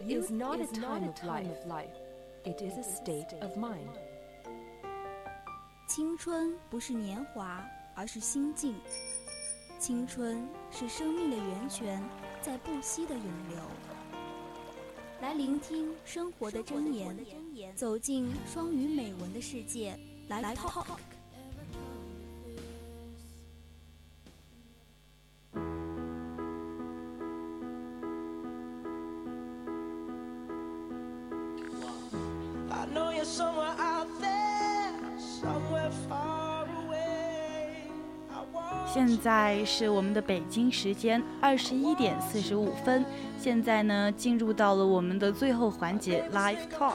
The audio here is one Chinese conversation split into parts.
is not a time of life. It is a state of mind. 青春不是年华，而是心境。青春是生命的源泉，在不息的涌流。来聆听生活的箴言，走进双语美文的世界。来 Talk。 现在是我们的北京时间21点45分，现在呢进入到了我们的最后环节 Live Talk。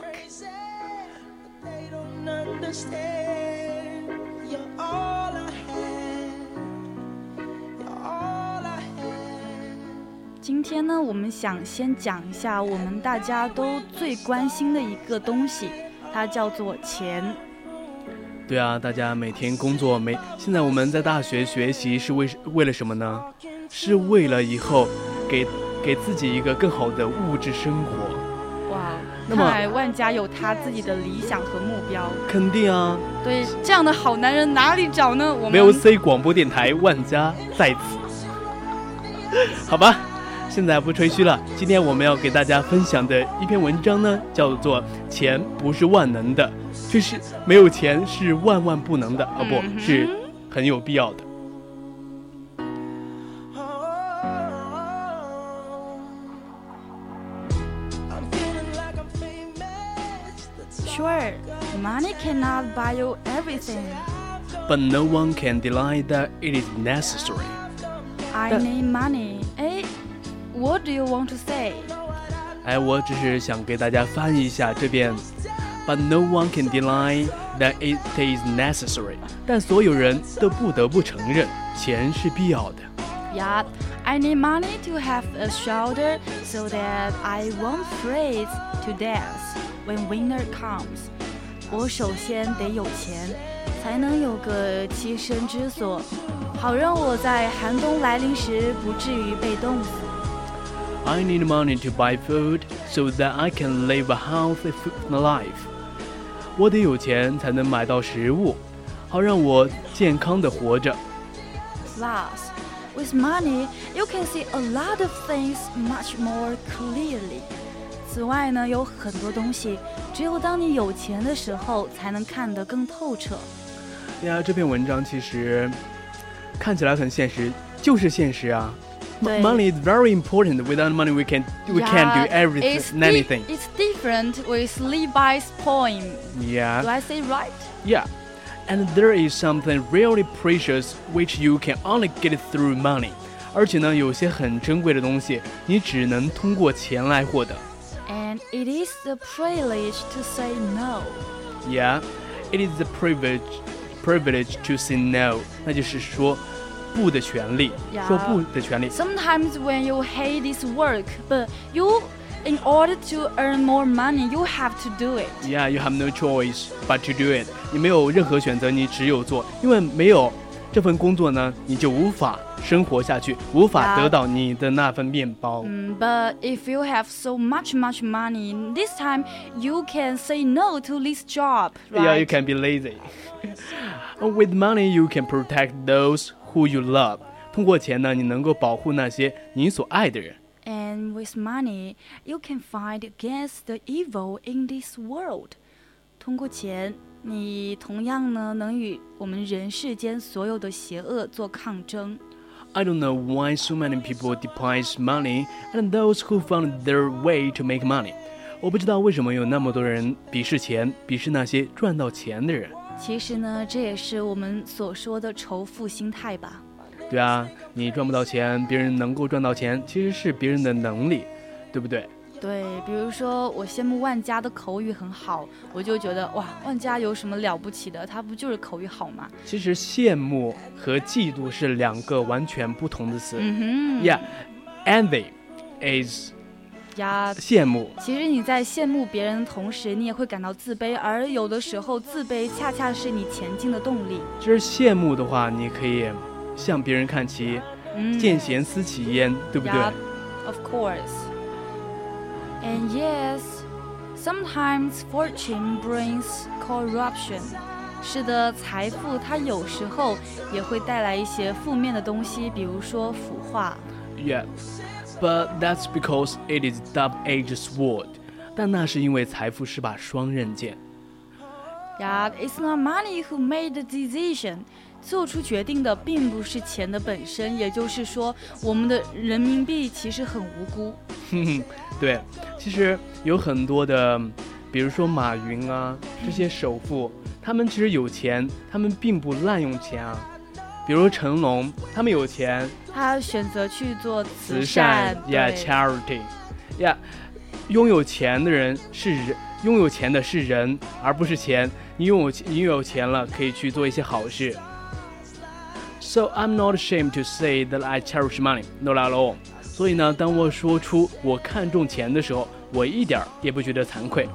今天呢，我们想先讲一下我们大家都最关心的一个东西，它叫做钱。 对啊，大家每天工作现在我们在大学学习是为了什么呢？是为了以后给自己一个更好的物质生活。 哇，看来万家有他自己的理想和目标。 肯定啊。 对，这样的好男人哪里找呢？我们 VOC 广播电台万家在此。好吧，现在不吹嘘了，今天我们要给大家分享的一篇文章呢，叫做钱不是万能的，就是没有钱是万万不能的，不是很有必要的。 Sure, money cannot buy you everything. But no one can deny that it is necessary. I need money. What do you want to say? 我只是想给大家翻译一下这边。But no one can deny that it is necessary. 但所有人都不得不承认，钱是必要的。 Yeah, I need money to have a shelter so that I won't freeze to death when winter comes. 我首先得有钱，才能有个栖身之所，好让我在寒冬来临时不至于被冻死。 I need money to buy food so that I can live a healthy life. 我得有钱才能买到食物，好让我健康的活着。 Plus, with money, you can see a lot of things much more clearly. 此外呢，有很多东西，只有当你有钱的时候，才能看得更透彻。 对啊，这篇文章其实看起来很现实，就是现实啊。Money is very important. Without money, we can't do anything. It's different with Levi's poem. Yeah. Do I say right? Yeah. And there is something really precious which you can only get through money. 而且呢，有些很珍贵的东西，你只能通过钱来获得。 And it is the privilege to say no. Yeah, it is the privilege to say no. 那就是说不的权利，说不的权利。 Sometimes when you hate this work, but in order to earn more money, you have to do it. Yeah, you have no choice but to do it. 你没有任何选择，你只有做，因为没有这份工作呢，你就无法生活下去，无法得到你的那份面包。 But if you have so much money, this time you can say no to this job, right? Yeah, you can be lazy. With money, you can protect those who you love. 通过钱呢，你能够保护那些你所爱的人。 And with money, you can fight against the evil in this world. 通过钱，你同样呢能与我们人世间所有的邪恶做抗争。 I don't know why so many people despise money and those who found their way to make money. 我不知道为什么有那么多人鄙视钱，鄙视那些赚到钱的人。 其实呢，这也是我们所说的仇富心态吧。 对啊，你赚不到钱，别人能够赚到钱，其实是别人的能力，对不对？ 对，比如说我羡慕万家的口语很好，我就觉得哇，万家有什么了不起的？他不就是口语好吗？ 其实羡慕和嫉妒是两个完全不同的词。Yeah, envy is 羡慕。 其实你在羡慕别人的同时，你也会感到自卑，而有的时候自卑恰恰是你前进的动力。 就是羡慕的话，你可以向别人看齐，见贤思齐焉，对不对？ Yeah, of course. And yes, sometimes fortune brings corruption. 是的，财富它有时候也会带来一些负面的东西，比如说腐化。 Yeah, but that's because it is double-edged sword. 但那是因为财富是把双刃剑。 Yeah, it's not money who made the decision. 做出决定的并不是钱的本身，也就是说，我们的人民币其实很无辜。 对，其实有很多的，比如说马云啊，这些首富，他们其实有钱，他们并不滥用钱啊。比如成龙，他们有钱， 他选择去做慈善 ，yeah, charity，yeah， 拥有钱的人是人，拥有钱的是人，而不是钱。你拥有钱了，可以去做一些好事。So I'm not ashamed to say that I cherish money, not at all. 所以呢，当我说出我看重钱的时候，我一点也不觉得惭愧。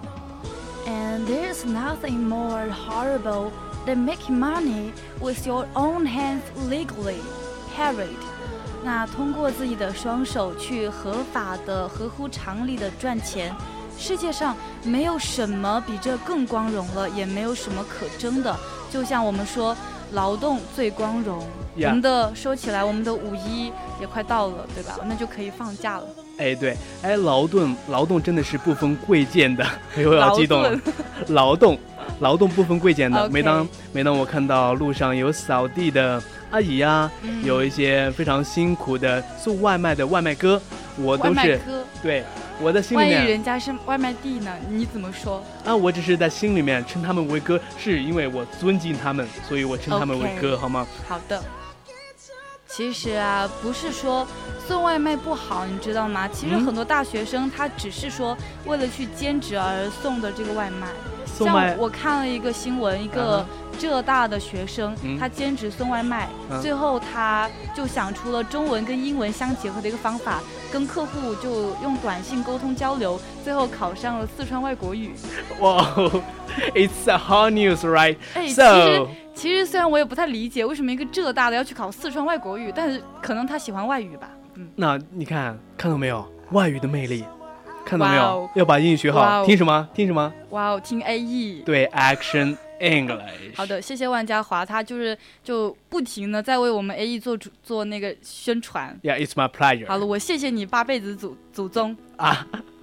And there's nothing more horrible than making money with your own hands legally, parried. 那通过自己的双手去合法的、合乎常理的赚钱，世界上没有什么比这更光荣了，也没有什么可争的。就像我们说，劳动最光荣。我们的说起来，我们的5·1也快到了，对吧？那就可以放假了。 哎，对，哎，劳动真的是不分贵贱的，我又要激动了。劳动不分贵贱的。 Okay. 每当我看到路上有扫地的阿姨啊，有一些非常辛苦的送外卖的外卖哥，我都是对。我的心里面， 万一人家是外卖弟呢？你怎么说？ 啊，我只是在心里面称他们为哥，是因为我尊敬他们，所以我称他们为哥， Okay. 好吗？ 好的。其实啊，不是说送外卖不好，你知道吗？其实很多大学生他只是说为了去兼职而送的这个外卖。像我看了一个新闻，一个浙大的学生，他兼职送外卖，最后他就想出了中文跟英文相结合的一个方法，跟客户就用短信沟通交流，最后考上了四川外国语。 哇、wow, it's a hot news, right? 其实虽然我也不太理解为什么一个浙大的要去考四川外国语，但是可能他喜欢外语吧。 那你看到没有外语的魅力？看到没有？ Wow. 要把英语学好。Wow. 听什么？ 哇哦，听 AE。 对 ，Action English。 好的，谢谢万家华，他就不停的在为我们 AE 做那个宣传。 Yeah, it's my pleasure。 好了，我谢谢你8辈子祖宗啊。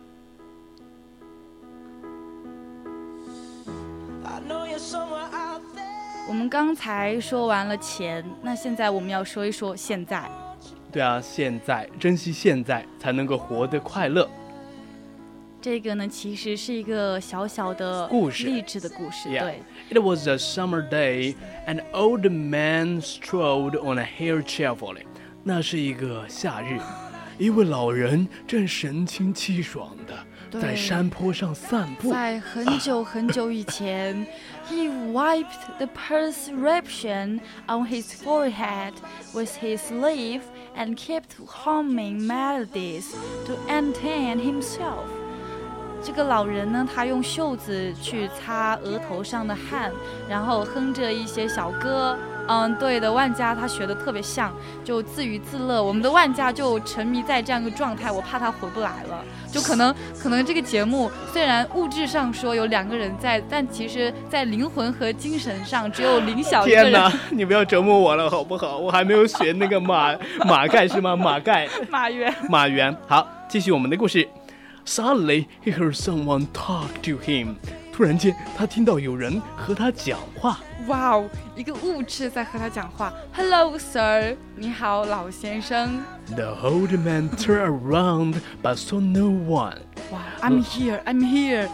我们刚才说完了钱，那现在我们要说一说现在。 对啊，现在珍惜现在，才能够活得快乐。 这个呢，其实是一个小小的故事， 励志的故事。 Yeah. 对。 It was a summer day, an old man strolled on a hill cheerfully. 那是一个夏日，一位老人正神清气爽的在山坡上散步。 在很久很久以前，he wiped the perspiration on his forehead with his sleeve and kept humming melodies to entertain himself. 这个老人呢，他用袖子去擦额头上的汗，然后哼着一些小歌。对的，万家他学的特别像，就自娱自乐。我们的万家就沉迷在这样一个状态，我怕他回不来了。就可能这个节目虽然物质上说有2个人在，但其实在灵魂和精神上只有林晓一个人。 天哪，你不要折磨我了好不好？我还没有学那个马盖是吗？马原。好，继续我们的故事。Suddenly, he heard someone talk to him. 突然间，他听到有人和他讲话。 哇哦，一个物质在和他讲话。Hello, sir. 你好，老先生。 The old man turned around, but saw no one. Wow, I'm here.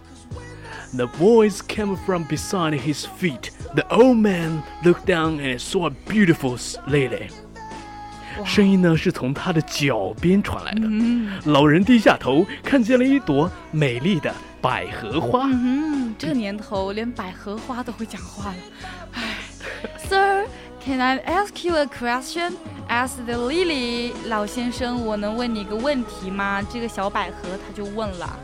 The voice came from beside his feet. The old man looked down and saw a beautiful lily.声音呢是从他的脚边传来的。老人低下头，看见了一朵美丽的百合花。 这年头连百合花都会讲话了。Sir, can I ask you a question? Asked the lily. 老先生，我能问你一个问题吗？这个小百合他就问了。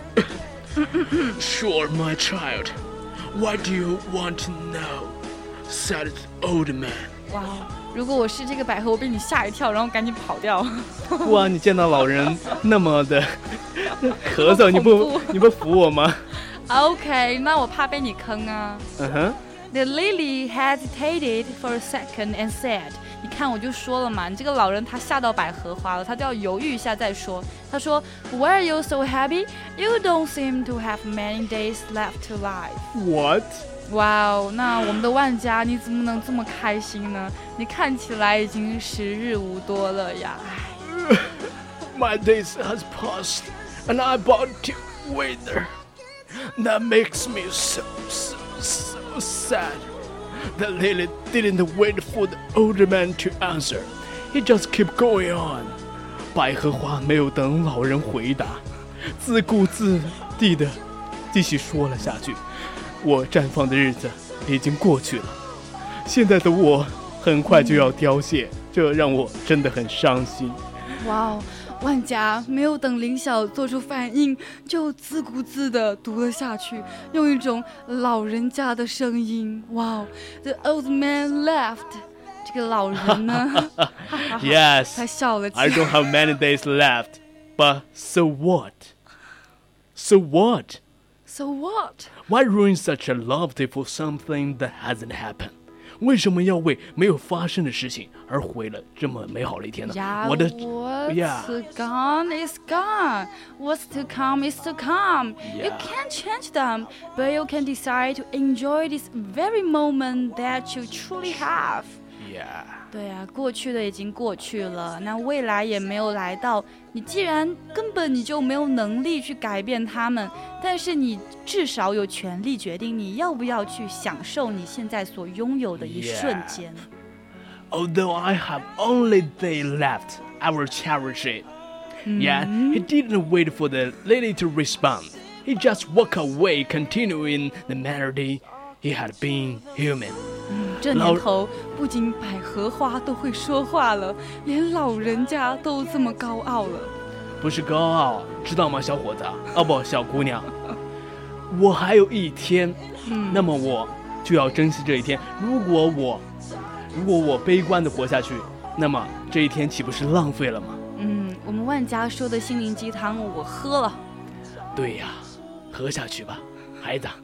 Sure, my child. What do you want to know? Said the old man. 哇，如果我是这个百合，我被你吓一跳，然后赶紧跑掉。 哇，你见到老人那么的咳嗽，你不服我吗 ？OK， 那我怕被你坑啊。 The lily hesitated for a second and said， 你看我就说了嘛，你这个老人他吓到百合花了，他就要犹豫一下再说。他说 Why are you so happy? You don't seem to have many days left to live. What? 哇哦，那我们的万家你怎么能这么开心呢？你看起来已经时日无多了呀。 My days has passed and I bought you winter. That makes me so sad. The lily didn't wait for the older man to answer. He just kept going on. 百合花没有等老人回答，自顾自地继续说了下去。我绽放的日子已经过去了，现在的我很快就要凋谢，这让我真的很伤心。 哇哦，万家没有等林晓做出反应，就自顾自地读了下去，用一种老人家的声音。哇哦 ，The old man laughed。这个老人呢 ，Yes， 他笑了起来。 I don't have many days left, but so what? So what? So what? Why ruin such a lovely for something that hasn't happened? 为什么要为没有发生的事情而毁了这么美好的一天呢？ What's gone is gone. What's to come is to come. You can't change them, but you can decide to enjoy this very moment that you truly have.对啊，过去的已经过去了，那未来也没有来到。你既然根本你就没有能力去改变它们，但是你至少有权利决定你要不要去享受你现在所拥有的一瞬间。 Although I have only day left, I will cherish it. Yeah, he didn't wait for the lady to respond. He just walked away, continuing the melody he had been human. 这年头不仅百合花都会说话了，连老人家都这么高傲了。 不是高傲，知道吗，小伙子？哦不，小姑娘，我还有一天，那么我就要珍惜这一天。如果我悲观的活下去，那么这一天岂不是浪费了吗？ 我们万家说的心灵鸡汤我喝了。 对呀，喝下去吧，孩子。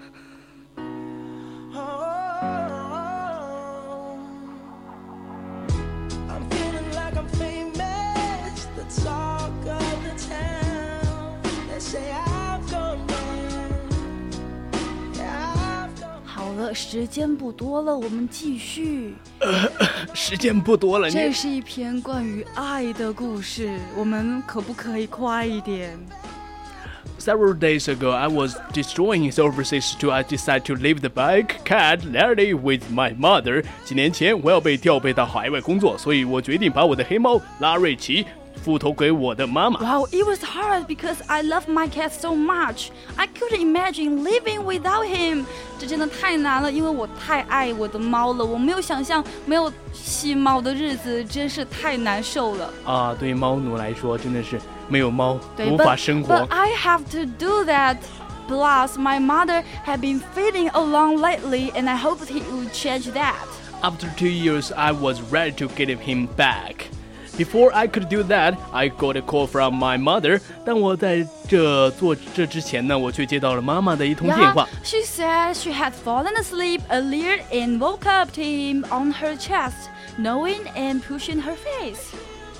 时间不多了，我们继续。 时间不多了， 这是一篇关于爱的故事，我们可不可以快一点？ Several days ago, I was destroying his overseas tour. I decided to leave the bike cat Larry with my mother. 几年前，我要被调配到海外工作，所以我决定把我的黑猫拉瑞奇付托给我的妈妈。 Wow, it was hard because I love my cat so much. I couldn't imagine living without him. 这真的太难了，因为我太爱我的猫了，我没有想象没有吸猫的日子，真是太难受了。 啊，对于猫奴来说，真的是没有猫无法生活。 But I have to do that. Plus, my mother had been feeling alone lately, and I hoped he would change that. After 2 years, I was ready to get him back.Before I could do that, I got a call from my mother. 但我在做这之前呢，我却接到了妈妈的一通电话。 She said she had fallen asleep earlier and woke up to him on her chest, knowing and pushing her face.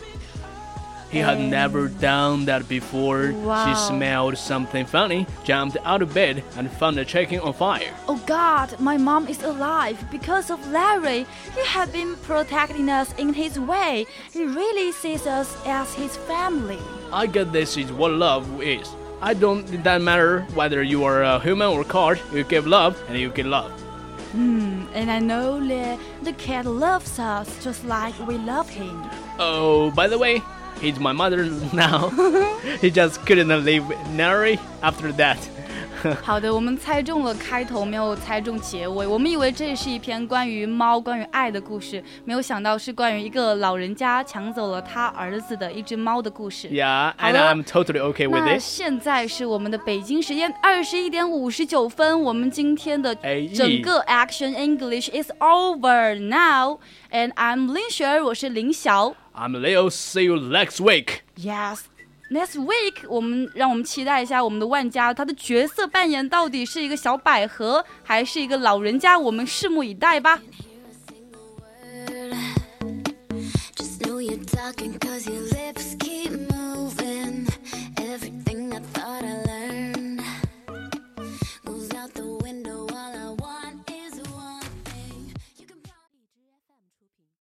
He had never done that before. Wow. She smelled something funny, jumped out of bed, and found the chicken on fire. Oh God, my mom is alive because of Larry. He had been protecting us in his way. He really sees us as his family. I guess this is what love is. It doesn't matter whether you are a human or cat. You give love and you get love. And I know that the cat loves us just like we love him. Oh, by the way.He's my mother now. He just couldn't leave Nari after that. 好的，我们猜中了开头，没有猜中结尾。我们以为这是一篇关于猫、关于爱的故事，没有想到是关于一个老人家抢走了他儿子的一只猫的故事。 Yeah, and I'm totally okay with it. 那现在是我们的北京时间21点59分，我们今天的整个 Action English is over now. And I'm 林雪儿，我是林晓。 I'm Leo. See you next week. Yes. Next week， 让我们期待一下我们的万家，他的角色扮演到底是一个小百合，还是一个老人家？我们拭目以待吧。 Just know you're talking 'cause your lips